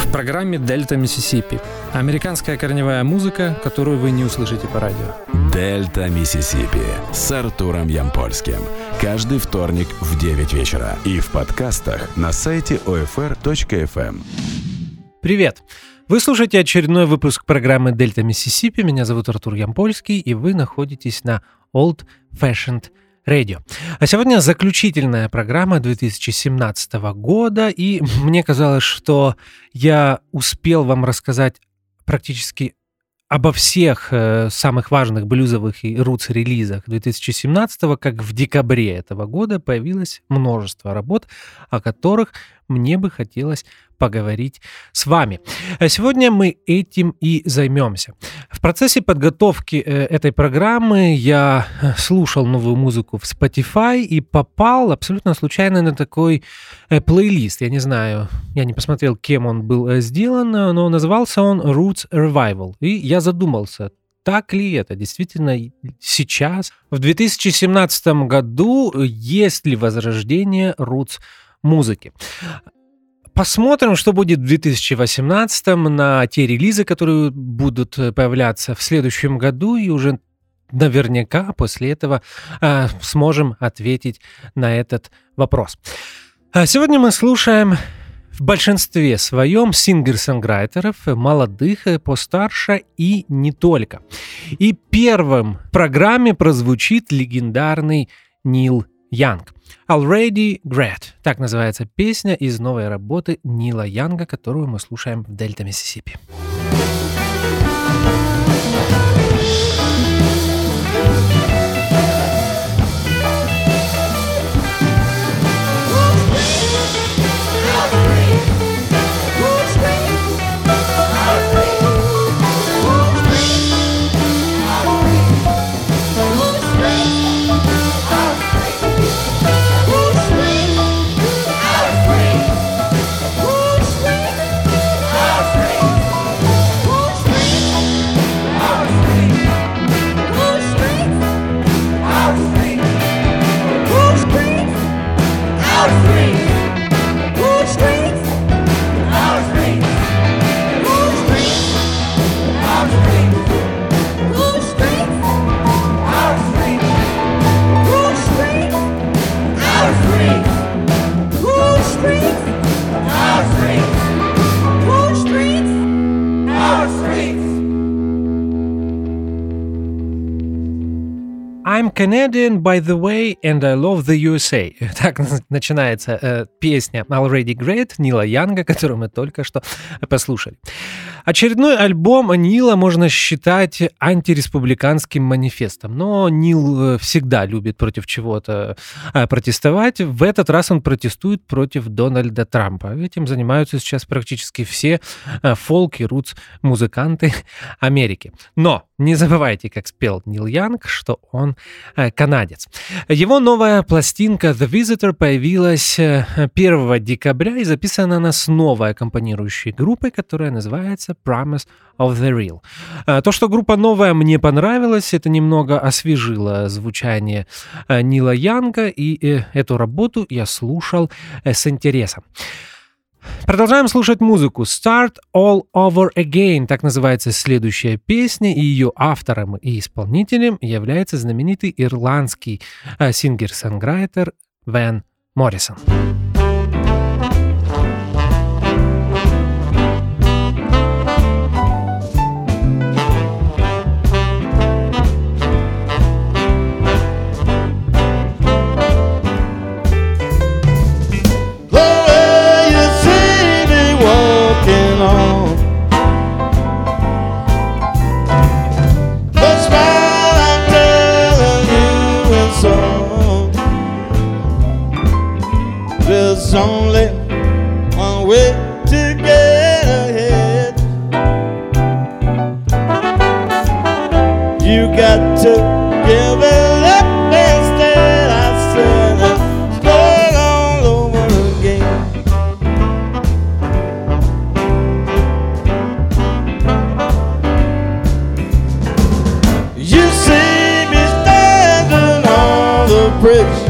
В программе «Дельта Миссисипи» американская корневая музыка, которую вы не услышите по радио. «Дельта Миссисипи» с Артуром Ямпольским. Каждый вторник в 9 вечера. И в подкастах на сайте OFR.FM. Привет! Вы слушаете очередной выпуск программы «Дельта Миссисипи». Меня зовут Артур Ямпольский, и вы находитесь на Old Fashioned Radio. А сегодня заключительная программа 2017 года, и мне казалось, что я успел вам рассказать практически обо всех самых важных блюзовых и рутс-релизах 2017, как в декабре этого года появилось множество работ, о которых мне бы хотелось поговорить с вами. Сегодня мы этим и займемся. В процессе подготовки этой программы я слушал новую музыку в Spotify и попал абсолютно случайно на такой плейлист. Я не знаю, я не посмотрел, кем он был сделан, но назывался он Roots Revival. И я задумался, так ли это действительно сейчас, в 2017 году, есть ли возрождение рутс-музыки. Посмотрим, что будет в 2018 на те релизы, которые будут появляться в следующем году, и уже наверняка после этого сможем ответить на этот вопрос. Сегодня мы слушаем в большинстве своем сингер-сонграйтеров, молодых, постарше и не только. И первым в программе прозвучит легендарный Нил Янг. Already Great. Так называется песня из новой работы Нила Янга, которую мы слушаем в Дельта Миссисипи. I'm Canadian, by the way, and I love the USA. Так начинается песня Already Great Нила Янга, которую мы только что послушали. Очередной альбом Нила можно считать антиреспубликанским манифестом, но Нил всегда любит против чего-то протестовать. В этот раз он протестует против Дональда Трампа. Этим занимаются сейчас практически все фолк- и рутс-музыканты Америки. Но не забывайте, как спел Нил Янг, что он канадец. Его новая пластинка The Visitor появилась 1 декабря и записана она с новой аккомпанирующей группой, которая называется Promise of the Real. То, что группа новая, мне понравилось, это немного освежило звучание Нила Янга, и эту работу я слушал с интересом. Продолжаем слушать музыку. Start All Over Again, так называется следующая песня, и ее автором и исполнителем является знаменитый ирландский сингер-сонграйтер Ван Моррисон. There's only one way to get ahead. You got to give it up instead. I said, start all over again. You see me standing on the bridge.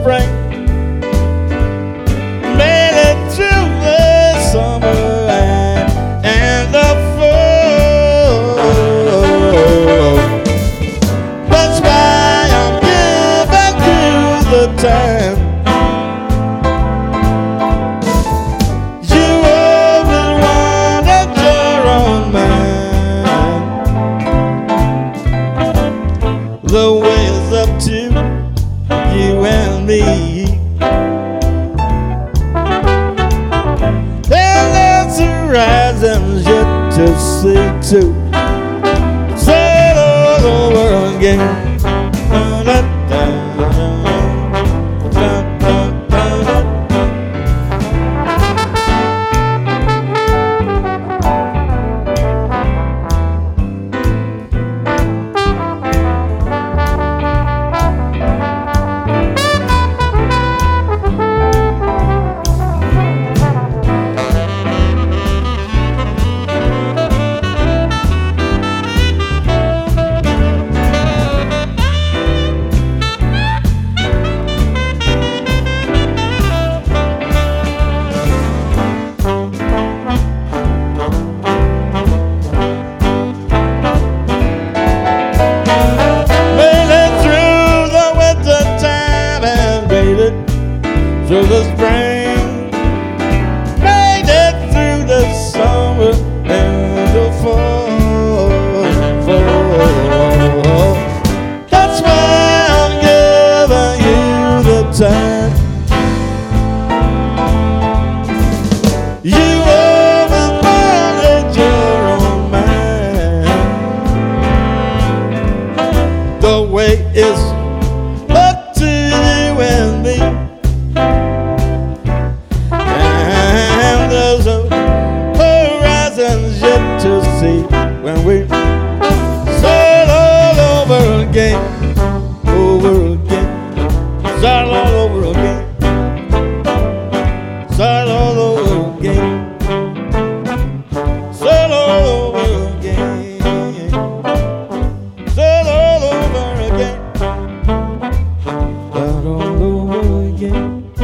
spring, made it through the summer and the fall. That's why I'm giving you the time. You always wanted your own mind. The way is up to you and me. And there's horizons yet to see too. Say it all over again. Through the spring, made it through the summer and the fall. That's why I'm giving you the time. You always wanted your own mind. The way is up to you and me. To see when we start all over again, start all over again, start all over again, start all over again, start all over again, start all over again.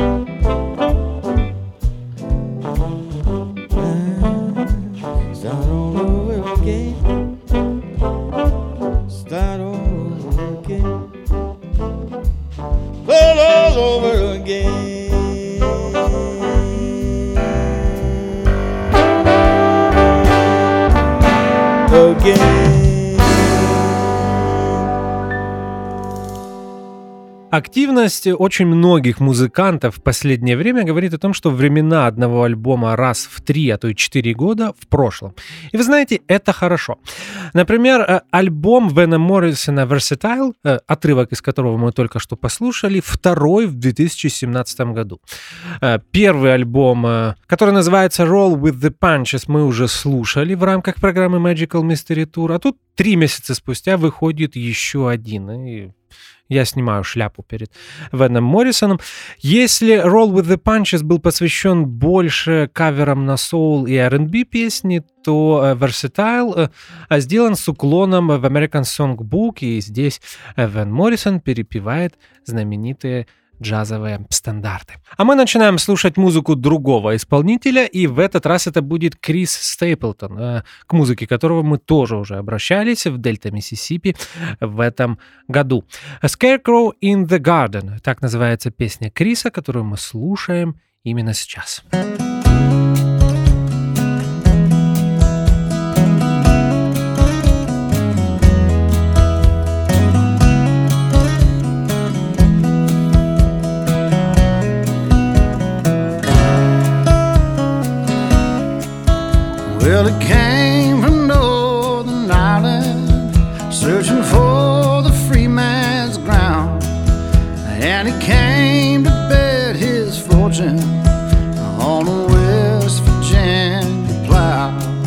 Start all over again. Start all over again. Start all over again. Активность очень многих музыкантов в последнее время говорит о том, что времена одного альбома раз в 3, а то и 4 года в прошлом. И вы знаете, это хорошо. Например, альбом Вена Моррисона «Versatile», отрывок из которого мы только что послушали, второй в 2017 году. Первый альбом, который называется «Roll with the Punches», мы уже слушали в рамках программы Magical Mystery Tour, а тут 3 месяца спустя выходит еще один. И я снимаю шляпу перед Веном Моррисоном. Если Roll with the Punches был посвящен больше каверам на соул и R&B песни, то Versatile сделан с уклоном в American Songbook, и здесь Вен Моррисон перепевает знаменитые джазовые стандарты. А мы начинаем слушать музыку другого исполнителя, и в этот раз это будет Крис Стейплтон, к музыке которого мы тоже уже обращались в Дельта Миссисипи в этом году. A Scarecrow in the Garden, так называется песня Криса, которую мы слушаем именно сейчас. Well, it came from Northern Ireland, searching for the free man's ground, and he came to bet his fortune on a West Virginia plow.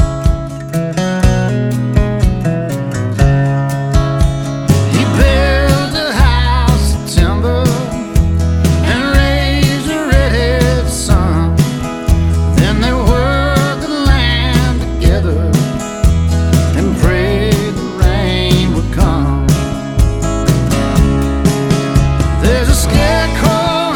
He built a house of timber and raised a redhead son. Then they worked the land together and prayed the rain would come. There's a scarecrow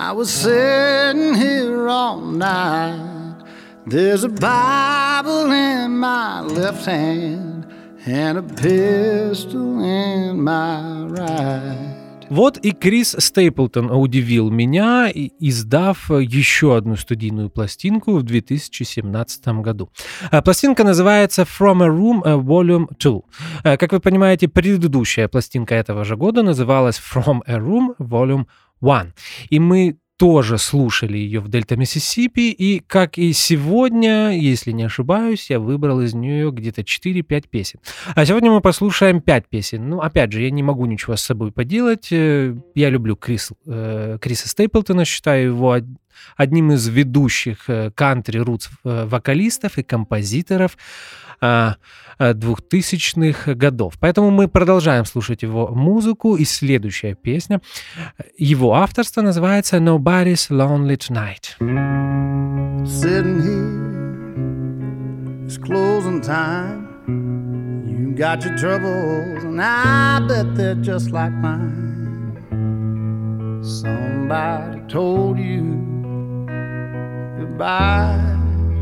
I was sitting here all night. There's a Bible in my left hand and a pistol in my right. Вот и Крис Стейплтон удивил меня, издав еще одну студийную пластинку в 2017 году. Пластинка называется From a Room Volume 2. Как вы понимаете, предыдущая пластинка этого же года называлась From a Room Volume 1. И мы тоже слушали ее в Дельта Миссисипи, и, как и сегодня, если не ошибаюсь, я выбрал из нее где-то 4-5 песен. А сегодня мы послушаем 5 песен. Ну, опять же, я не могу ничего с собой поделать. Я люблю Криса Стейплтона, считаю его одним из ведущих кантри-рутс вокалистов и композиторов 2000-х годов. Поэтому мы продолжаем слушать его музыку, и следующая песня его авторства называется Nobody's Lonely Tonight. Sitting here, it's closing time. You got your troubles, and I bet they're just like mine. Somebody told you goodbye.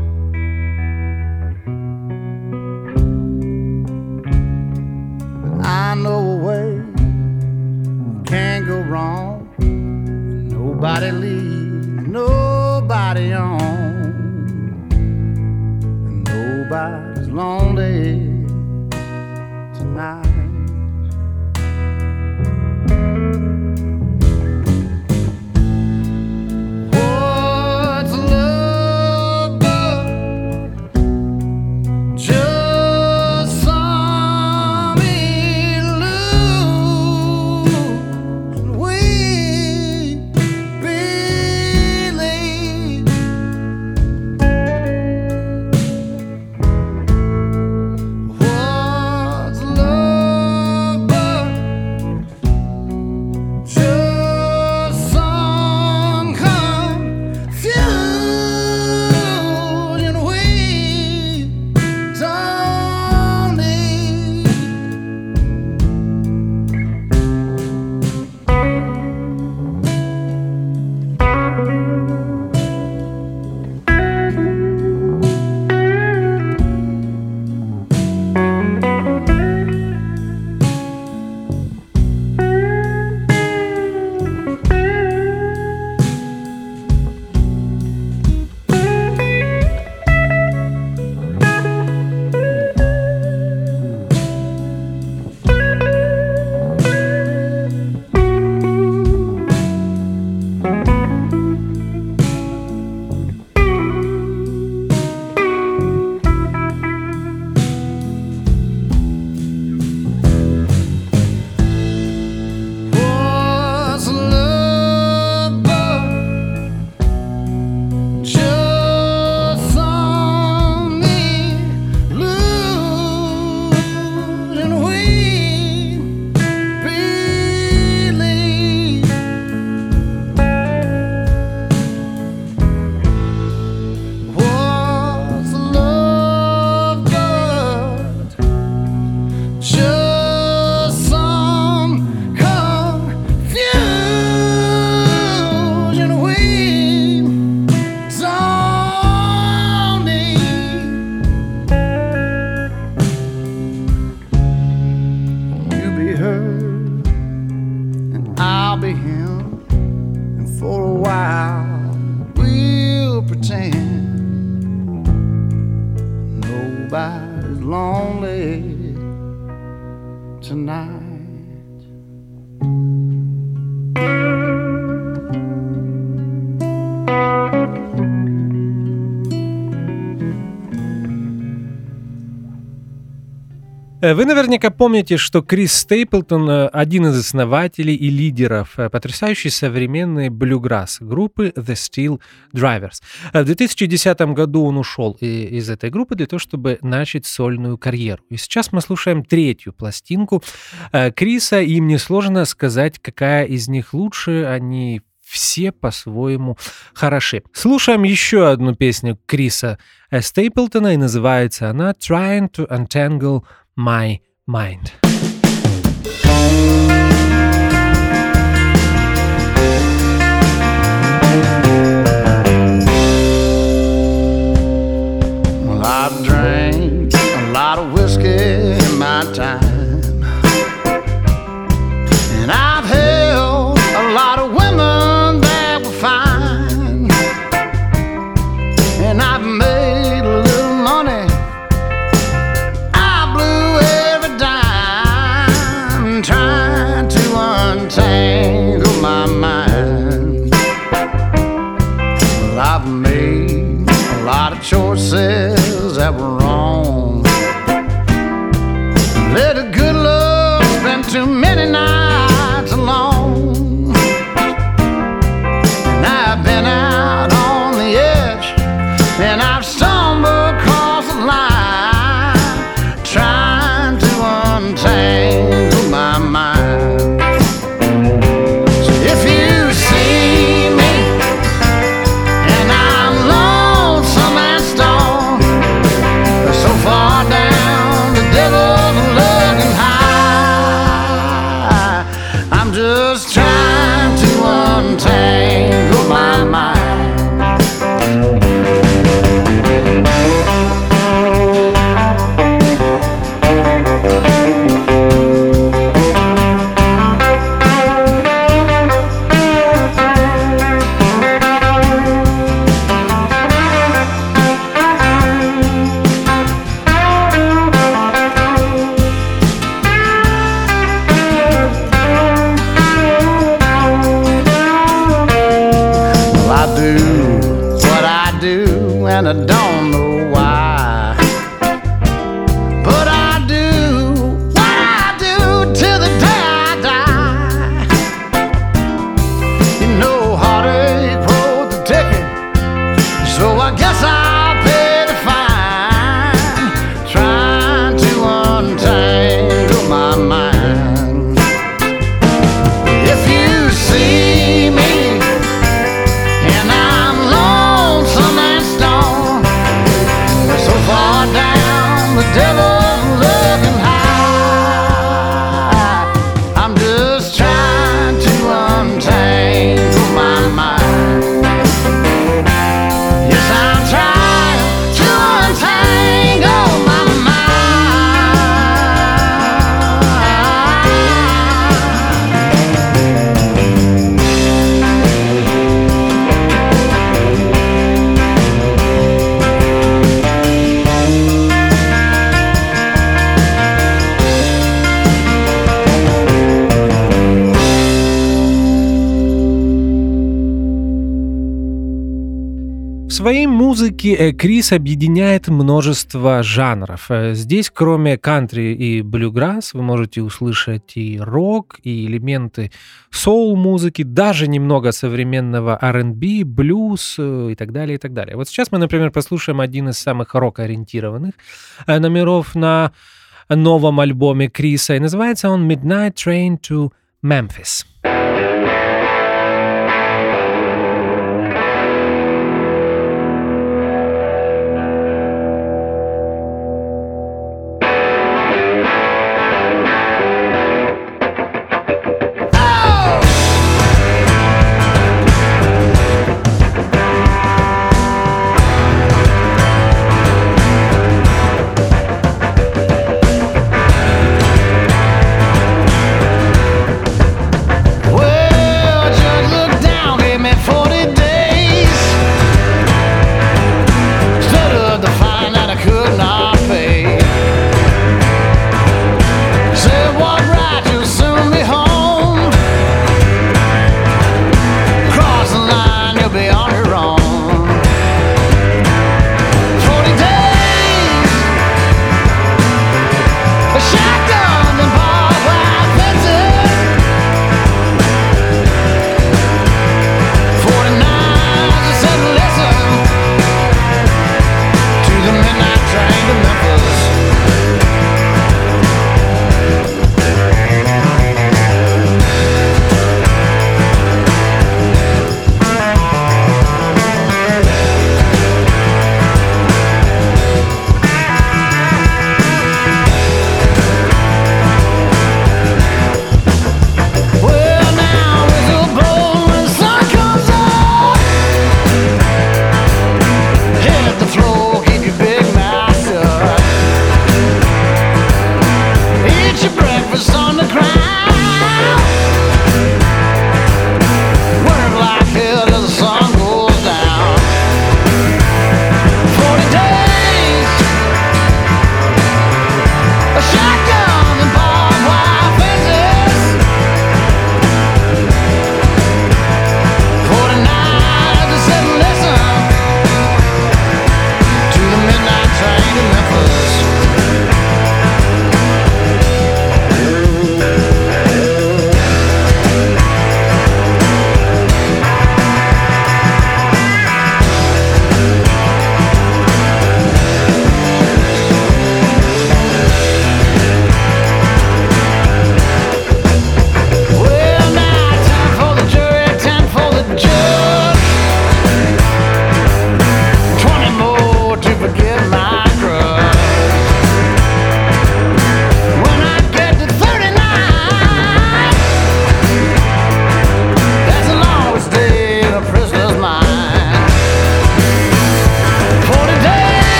I know a way you can't go wrong. Nobody leaves, nobody on. And nobody's lonely tonight. What's love but just some illusion we believe? What's love but just some confusion we don't need? What's love but just some illusion we believe? What's love but just some confusion we don't need? You be her and I'll be him, and for a while we'll pretend nobody's lonely tonight. Вы наверняка помните, что Крис Стейплтон один из основателей и лидеров потрясающей современной блюграсс группы The Steel Drivers. В 2010 году он ушел из этой группы для того, чтобы начать сольную карьеру. И сейчас мы слушаем третью пластинку Криса, и мне сложно сказать, какая из них лучше. Они все по-своему хороши. Слушаем еще одну песню Криса Стейплтона, и называется она «Trying to Untangle My Mind». whiskey in my time. And I've held a lot of women that were fine. And I've made a little money. I blew every dime trying to untangle my mind. Well, I've made a lot of choices that were wrong. Let a good love spend too many nights alone. And I've been out on the edge, and I've stumbled across the line, trying to untangle my mind. So if you see me and I'm lonesome and stoned, so far down the devil's looking high, I'm just trying to untangle my mind. Well, I do what I do, and I don't know why. But I do what I do till the day I die. You know, heartache wrote the ticket, so I guess I'll pay the fine, trying to untangle my mind. If you see me and I'm lonesome and stoned, so far down the devil's looking high, I'm just trying to untangle my mind. Yes, I'm trying to untangle my В своей музыке Крис объединяет множество жанров. Здесь, кроме кантри и блюграсс, вы можете услышать и рок, и элементы соул-музыки, даже немного современного R&B, блюз и так далее, и так далее. Вот сейчас мы, например, послушаем один из самых рок-ориентированных номеров на новом альбоме Криса, и называется он «Midnight Train to Memphis».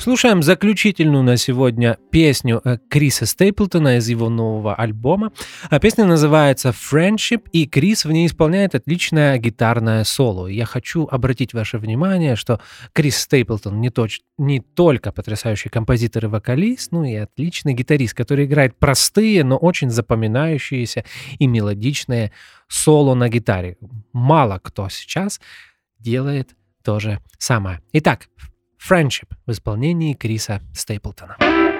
Слушаем заключительную на сегодня песню Криса Стейплтона из его нового альбома. Песня называется «Friendship», и Крис в ней исполняет отличное гитарное соло. Я хочу обратить ваше внимание, что Крис Стейплтон не только потрясающий композитор и вокалист, но и отличный гитарист, который играет простые, но очень запоминающиеся и мелодичные соло на гитаре. Мало кто сейчас делает то же самое. Итак, «Friendship» в исполнении Криса Стейплтона.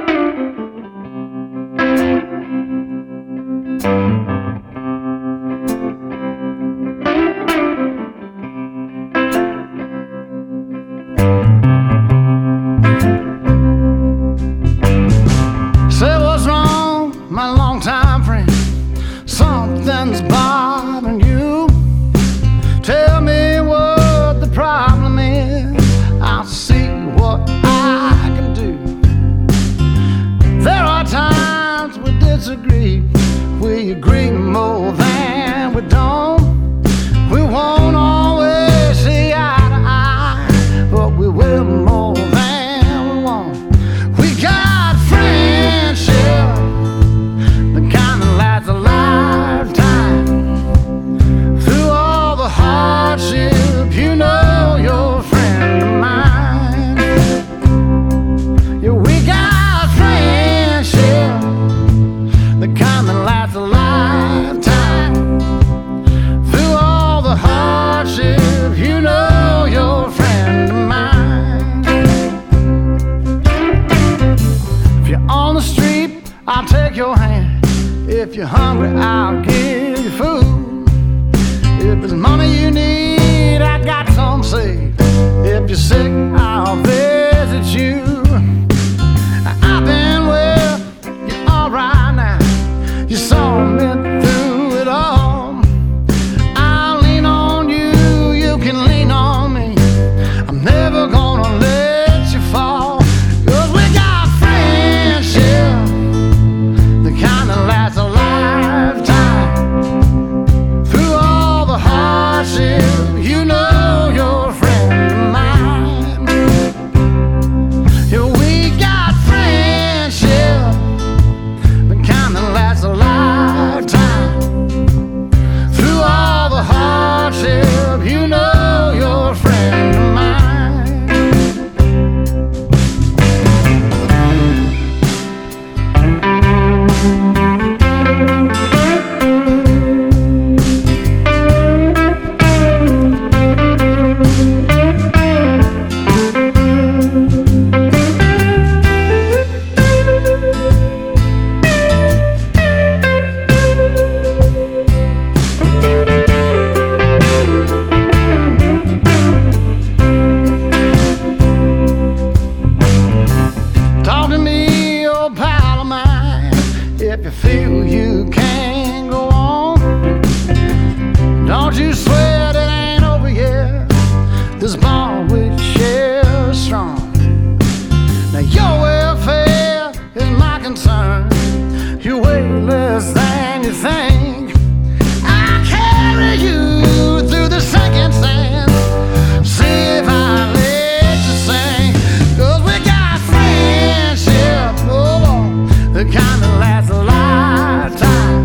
Say what's wrong, my longtime friend? Something's bothering you. Tell me what the problem is. I'll see what I can do. There are times we disagree. We agree more than we don't. We won't always see eye to eye, but we will more than we won't. We got friendship, the kind that lasts a lifetime. Through all the hardship, you know you're a friend of mine. Yeah, we got friendship, the kind that lasts a lifetime. Through all the hardship, you know you're a friend of mine. If you're on the street, I'll take your hand. If you're hungry, I'll give you food. If it's money you need, I got some saved. If you're sick, I'll visit you. I've been well, you're alright now. You saw me through it all. I'll lean on you, you can lean on me. I'm never gonna let you fall. 'Cause we got friendship, the kind that lasts a lifetime. Through all the hardship, you know you're a friend of mine. Yeah, we got friendship, the kind that lasts a lifetime. Through all the hardship, you know you're a friend of mine. Talk to me, old pal of mine, if you feel you can't go on. Don't you sweat, it ain't over yet. This bond we share is strong. Now your welfare is my concern. You weigh less than you think. I carry you through the sinking sand. See if I let you sing. 'Cause we got friendship, oh, the kind that lasts a lifetime.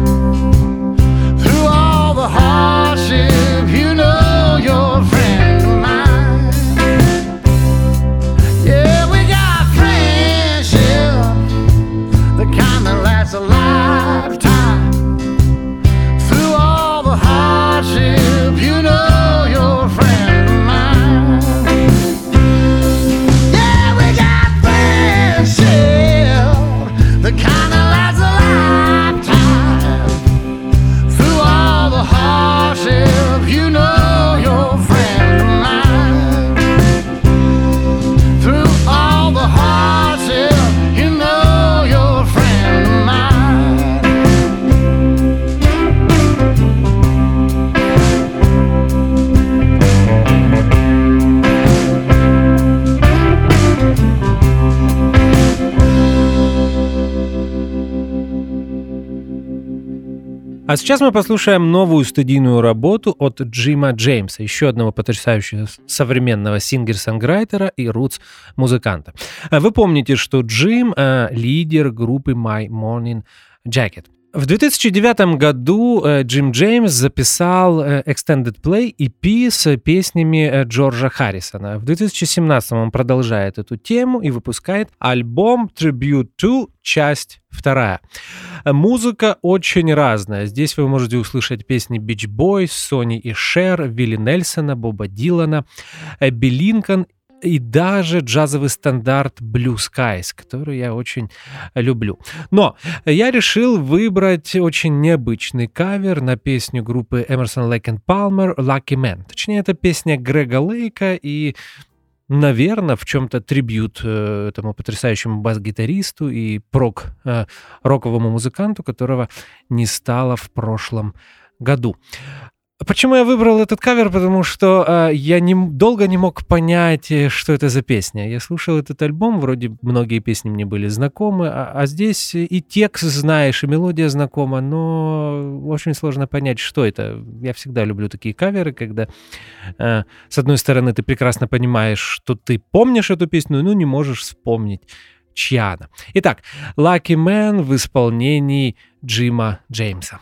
А сейчас мы послушаем новую студийную работу от Джима Джеймса, еще одного потрясающего современного сингер-сонграйтера и рутс-музыканта. Вы помните, что Джим — лидер группы My Morning Jacket. В 2009 году Джим Джеймс записал Extended Play EP с песнями Джорджа Харрисона. В 2017 он продолжает эту тему и выпускает альбом Tribute to, часть 2. Музыка очень разная. Здесь вы можете услышать песни Beach Boys, Сони и Шер, Вилли Нельсона, Боба Дилана, Эбби Линкольн и даже джазовый стандарт Blue Skies, который я очень люблю. Но я решил выбрать очень необычный кавер на песню группы Emerson, Lake & Palmer «Lucky Man». Точнее, это песня Грега Лейка и, наверное, в чем-то трибьют этому потрясающему бас-гитаристу и роковому музыканту, которого не стало в прошлом году. Почему я выбрал этот кавер? Потому что я долго не мог понять, что это за песня. Я слушал этот альбом, вроде многие песни мне были знакомы, а здесь и текст знаешь, и мелодия знакома, но очень сложно понять, что это. Я всегда люблю такие каверы, когда с одной стороны ты прекрасно понимаешь, что ты помнишь эту песню, но не можешь вспомнить, чья она. Итак, Lucky Man в исполнении Джима Джеймса.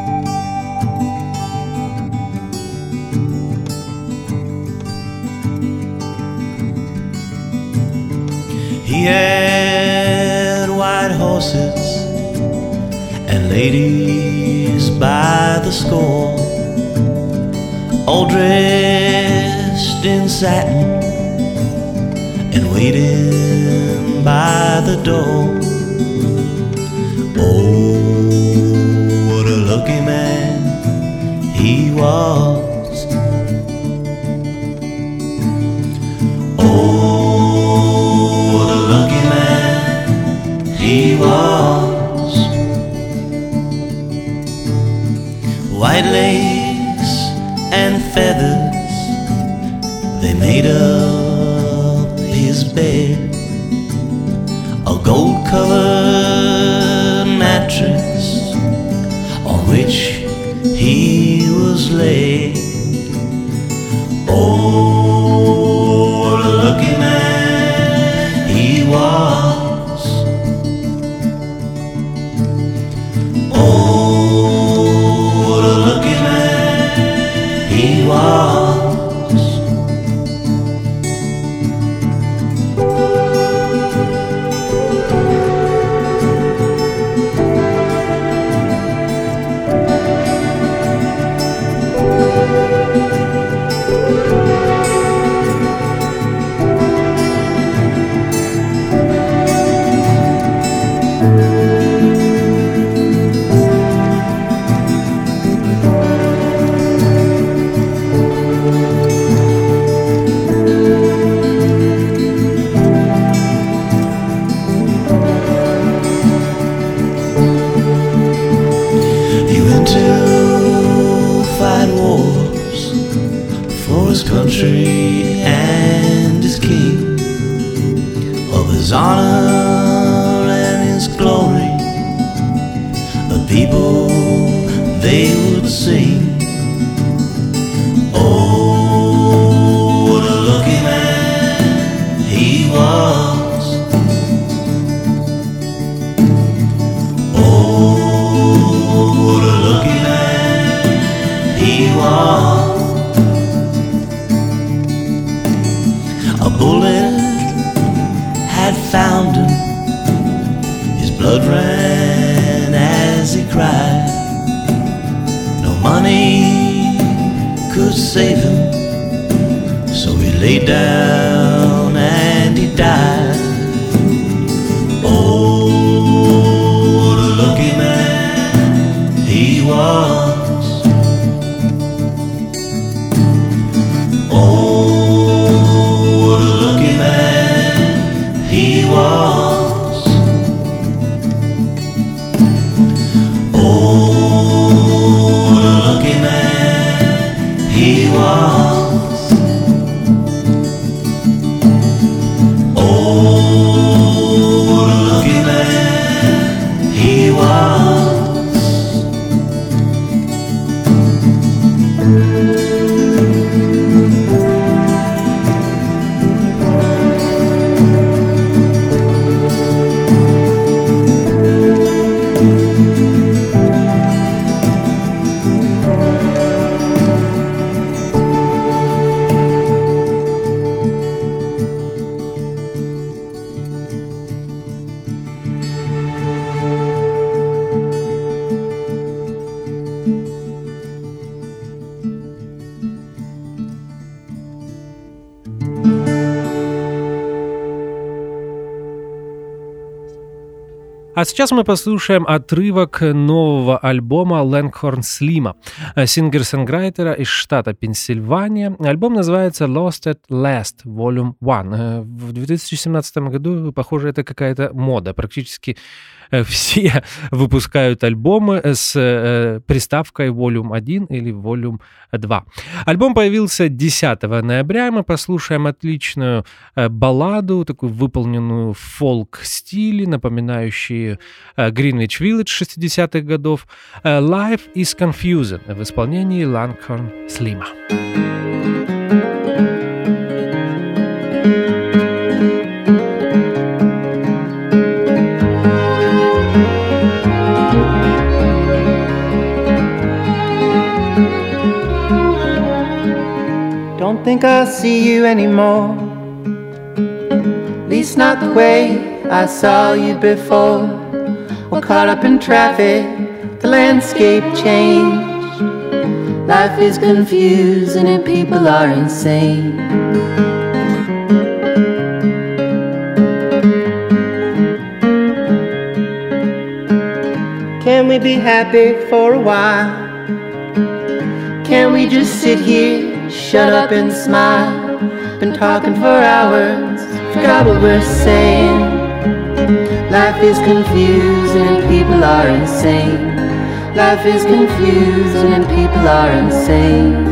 He had white horses and ladies by the score, all dressed in satin and waiting by the door. Oh, what a lucky man he was. Oh, he was. White lace and feathers, they made up his bed. A gold-colored mattress on which he was laid. Oh, what a lucky man he was. А сейчас мы послушаем отрывок нового альбома Langhorne Slim, сингер-сонграйтера из штата Пенсильвания. Альбом называется Lost at Last Volume 1. В 2017 году, похоже, это какая-то мода. Практически все выпускают альбомы с приставкой Volume 1 или Volume 2. Альбом появился 10 ноября. Мы послушаем отличную балладу, такую выполненную в фолк-стиле, напоминающую Greenwich Village 60-х годов. Life is Confusing в исполнении Langhorne Slim. Don't think I'll see you anymore, at least not the way I saw you before. We're caught up in traffic, the landscape changed. Life is confusing and people are insane. Can we be happy for a while? Can we just sit here, shut up and smile? Been talking for hours, forgot what we're saying. Life is confusing and people are insane. Life is confusing and people are insane.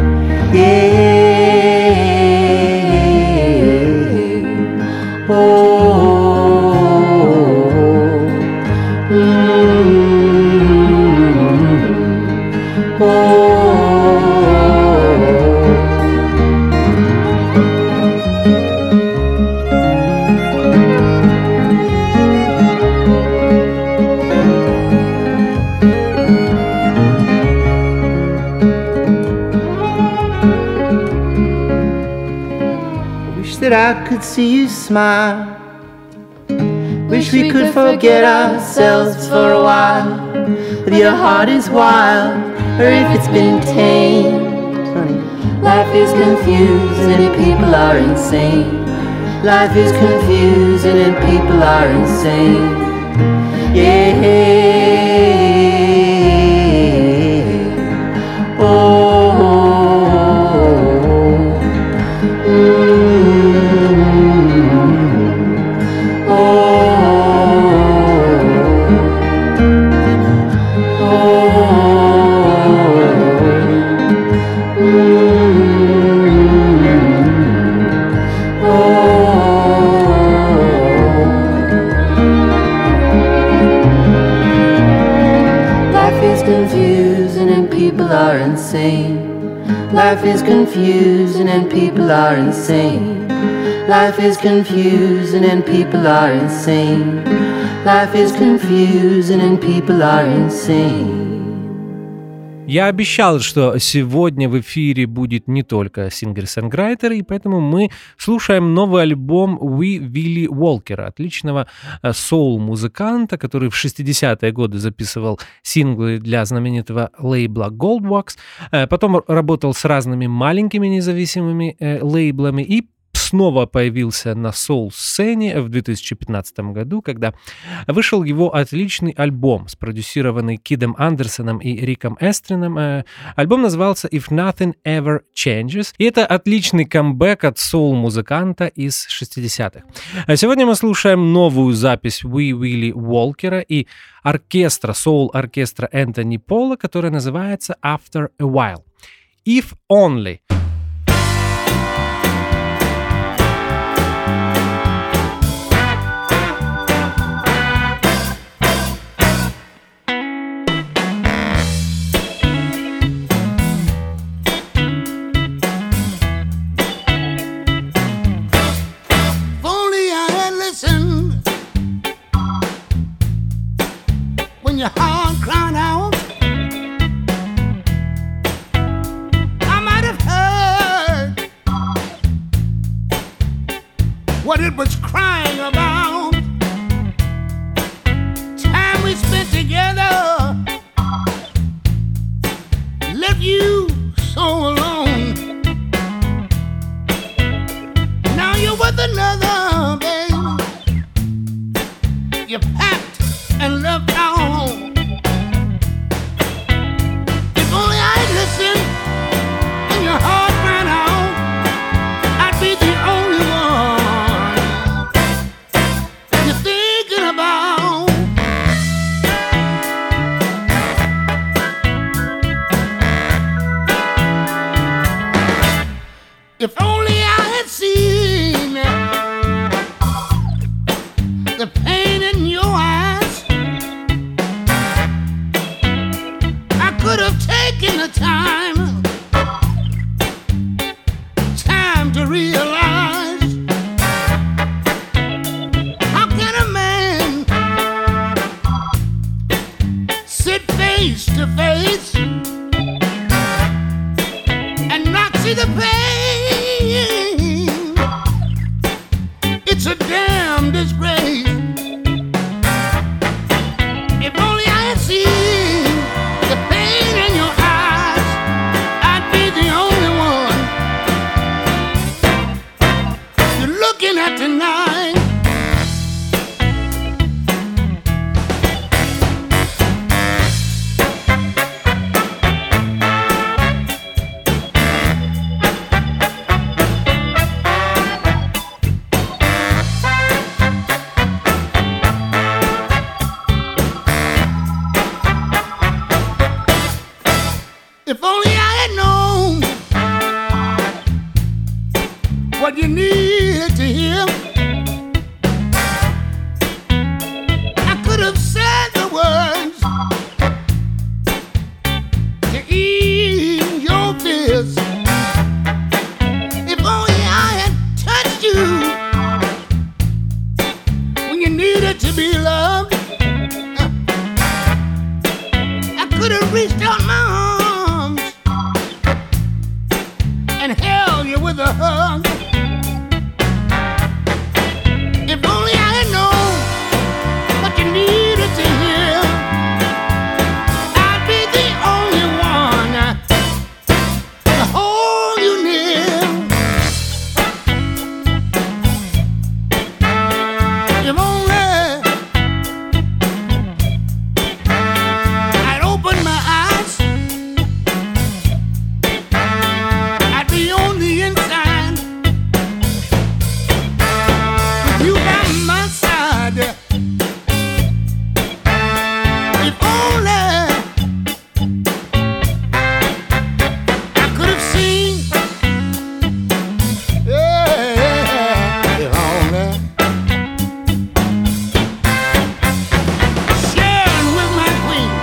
Yeah. Oh. Mm-hmm. Oh. That I could see you smile. Wish we could forget ourselves for a while. If your heart is wild, or if it's been tamed. Life is confusing and people are insane. Life is confusing and people are insane. Yeah. Oh. Life is confusing and people are insane. Life is confusing and people are insane. Life is confusing and people are insane. Я обещал, что сегодня в эфире будет не только сингер-сонграйтер, и поэтому мы слушаем новый альбом Wee Willie Walker, отличного соул-музыканта, который в 60-е годы записывал синглы для знаменитого лейбла Goldwax, потом работал с разными маленькими независимыми лейблами и снова появился на соул-сцене в 2015 году, когда вышел его отличный альбом, спродюсированный Кидом Андерсоном и Риком Эстрином. Альбом назывался If Nothing Ever Changes, и это отличный камбэк от соул-музыканта из 60-х. А сегодня мы слушаем новую запись Wee Willie Walker и оркестра, соул-оркестра Энтони Пола, которая называется After a While. If Only. Your heart crying out, I might have heard what it was crying about. Time we spent together left you so alone. Now you're with another, baby. You packed and left our home. If only I'd listened and your heart ran out, I'd be the only one you're thinking about. If only I had seen the pain in your eyes, I could have taken the time to realize, how can a man sit face to face and not see the pain? It's a damn disgrace. If only I had seen the pain in your eyes, I'd be the only one you're looking at tonight. If only I had known what you needed to hear, I could have said the words to ease your fears. If only I had touched you when you needed to be loved, I could have reached out my arms and held you with a hug. If only I had known what you needed to hear, I'd be the only one to hold you near. If only I'd open my eyes, I'd be on the inside with you by my side. If only I could have seen, yeah, if only sharing with my queen.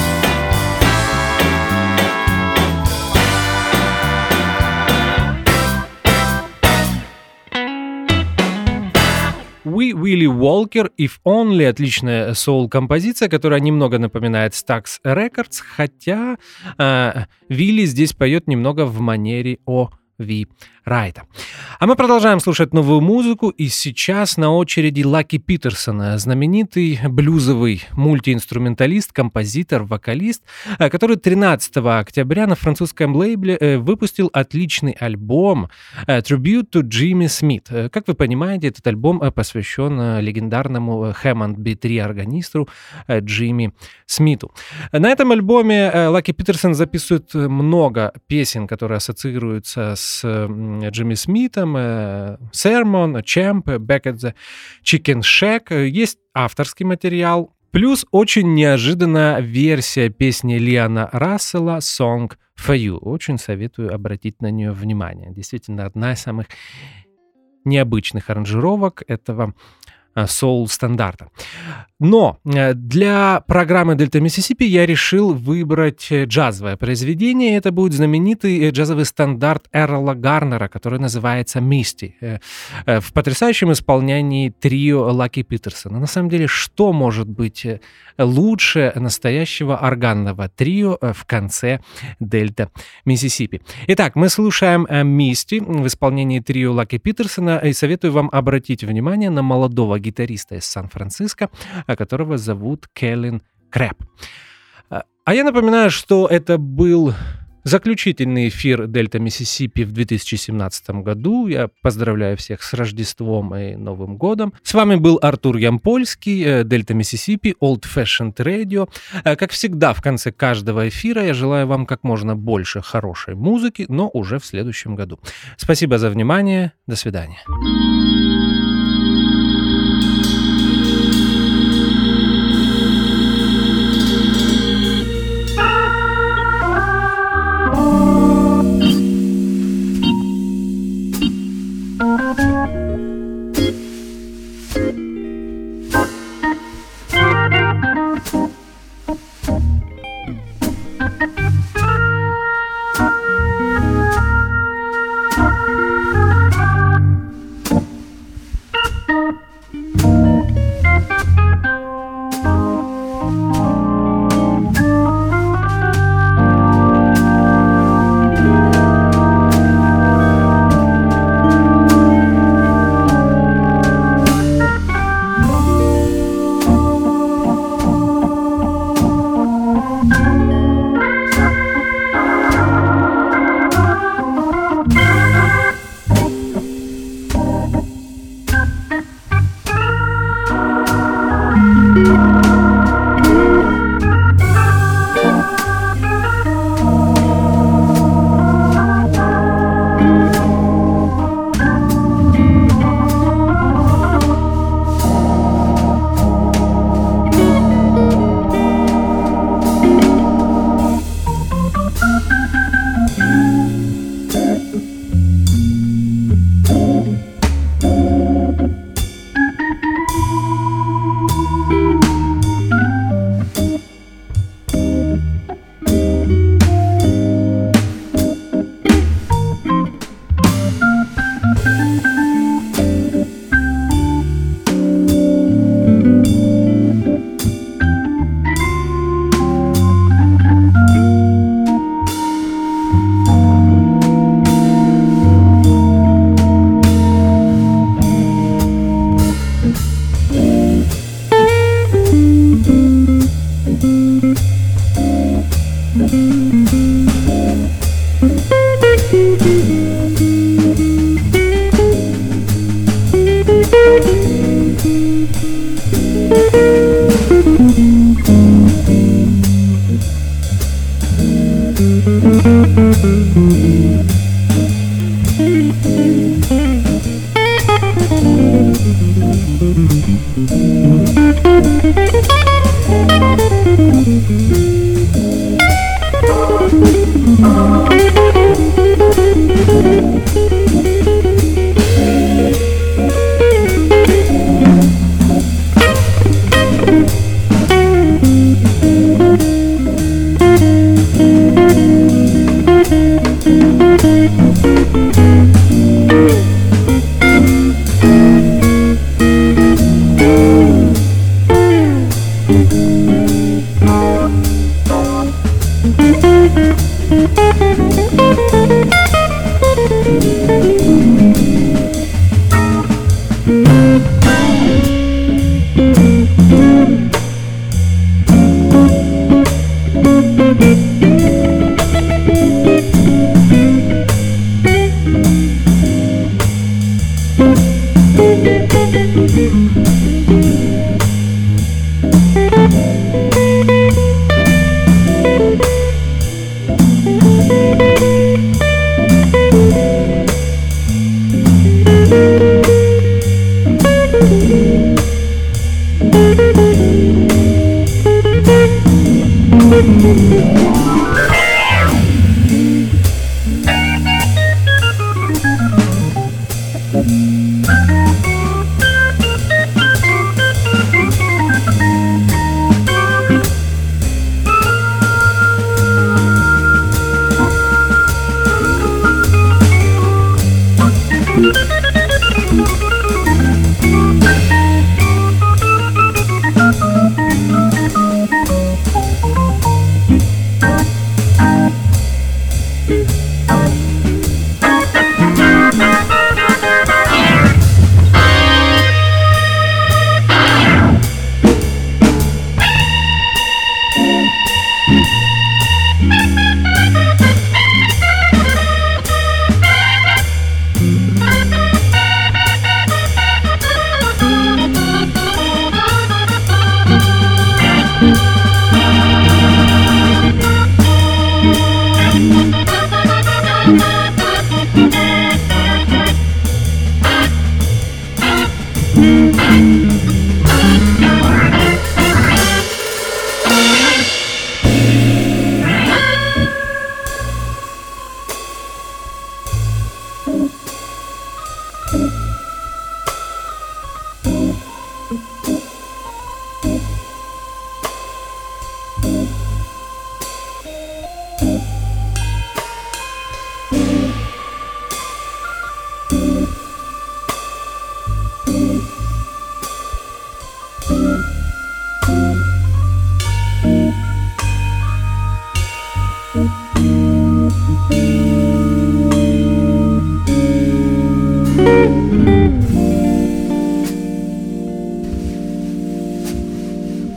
We Willie Walker, If Only, отличная соул-композиция, которая немного напоминает Stax Records, хотя Вилли здесь поет немного в манере O.V. Райта. А мы продолжаем слушать новую музыку, и сейчас на очереди Лаки Питерсон, знаменитый блюзовый мультиинструменталист, композитор, вокалист, который 13 октября на французском лейбле выпустил отличный альбом Tribute to Jimmy Smith. Как вы понимаете, этот альбом посвящен легендарному Hammond B3 органисту Джимми Смиту. На этом альбоме Лаки Питерсон записывает много песен, которые ассоциируются с Джимми Смитом, Sermon, Champ, Back at the Chicken Shack. Есть авторский материал, плюс очень неожиданная версия песни Лиана Рассела «Song for You». Очень советую обратить на нее внимание. Действительно, одна из самых необычных аранжировок этого соул-стандарта. Но для программы «Дельта Миссисипи» я решил выбрать джазовое произведение. Это будет знаменитый джазовый стандарт Эрла Гарнера, который называется «Мисти», в потрясающем исполнении трио Лаки Питерсона. На самом деле, что может быть лучше настоящего органного трио в конце «Дельта Миссисипи»? Итак, мы слушаем «Мисти» в исполнении трио Лаки Питерсона, и советую вам обратить внимание на молодого гитариста из Сан-Франциско, которого зовут Келлен Крэп. А я напоминаю, что это был заключительный эфир Дельта Миссисипи в 2017 году. Я поздравляю всех с Рождеством и Новым годом. С вами был Артур Ямпольский, Дельта Миссисипи, Old Fashioned Radio. Как всегда, в конце каждого эфира я желаю вам как можно больше хорошей музыки, но уже в следующем году. Спасибо за внимание. До свидания.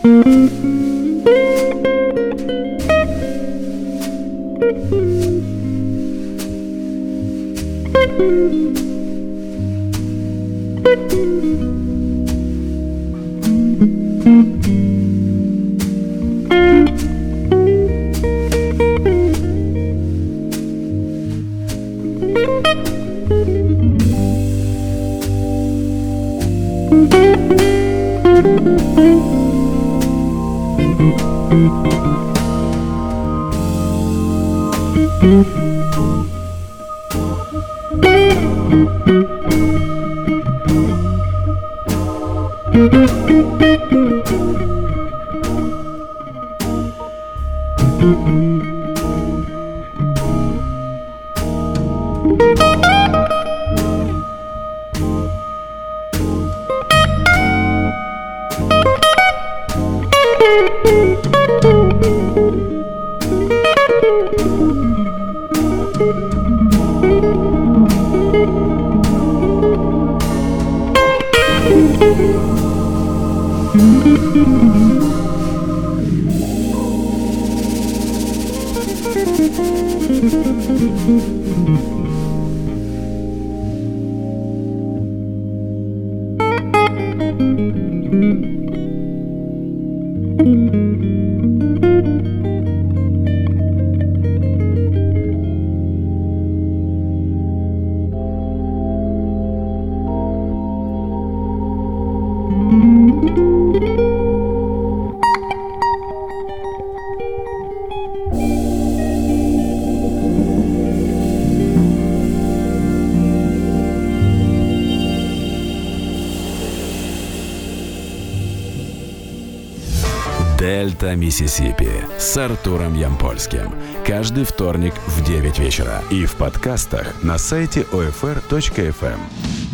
Дельта Миссисипи с Артуром Ямпольским. Каждый вторник в 9 вечера. И в подкастах на сайте OFR.FM.